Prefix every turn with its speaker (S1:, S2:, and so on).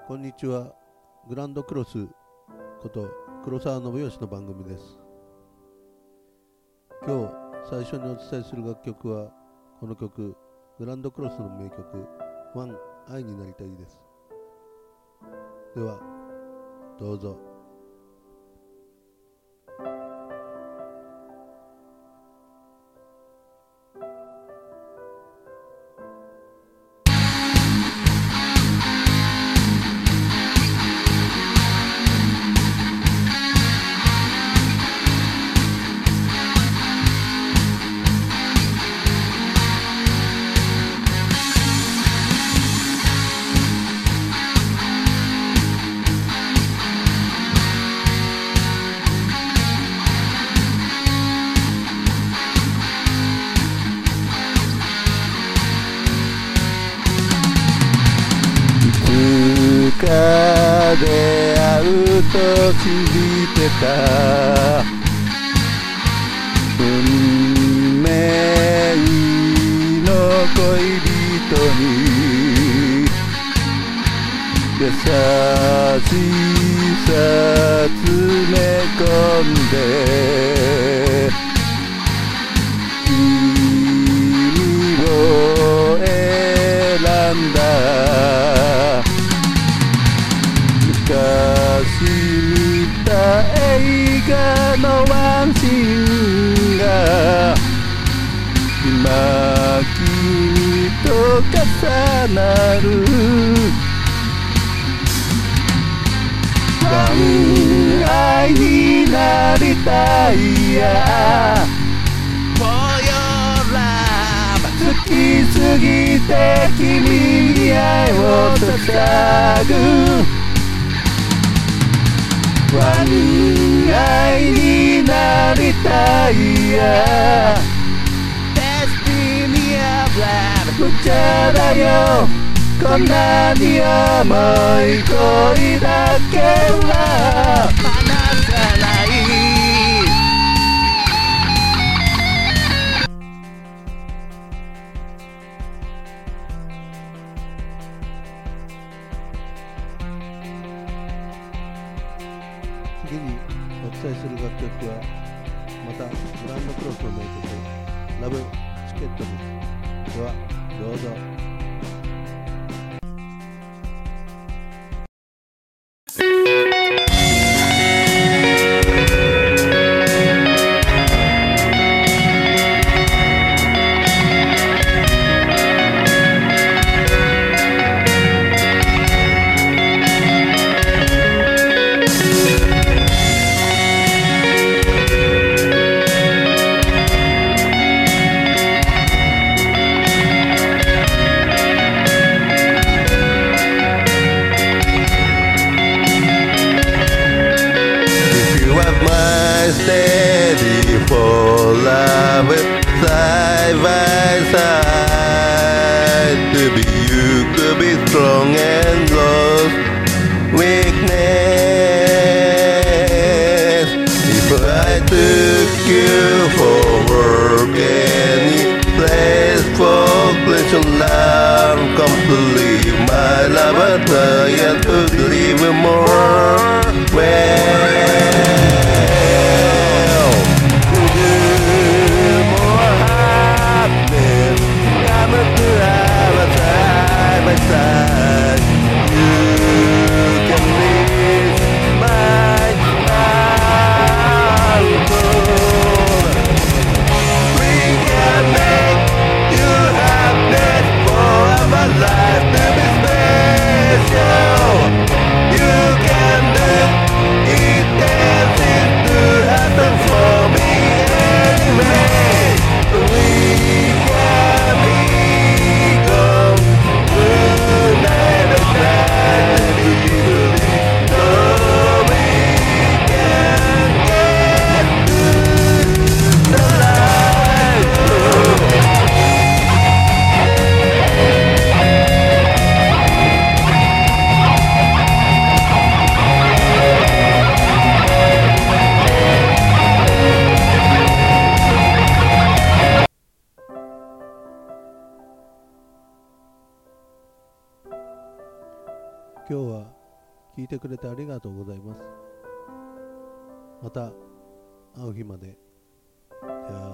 S1: こんにちは。グランドクロスこと黒沢信義の番組です。今日最初にお伝えする楽曲はこの曲、グランドクロスの名曲ワン愛になりたいです。ではどうぞ。
S2: 出会うと信じてた運命の恋人に優しさ詰め込んで君を選んだ昔見た映画のワンシーンが今君と重なるワン愛になりたいや For your love 好きすぎて君に愛を捧ぐワン愛になりたいや Destiny of love 無茶だよこんなに重い恋だけは離さない
S1: 次にお伝えする楽曲はまたグランドクロスの名曲ラブチケットです。ではどうぞ。
S2: Steady for love side by side to be you could be strong and lost weakness if I took you for work any place for pleasure love complete my love I try to live more well
S1: 今日は聞いてくれてありがとうございます。また会う日まで。じゃあ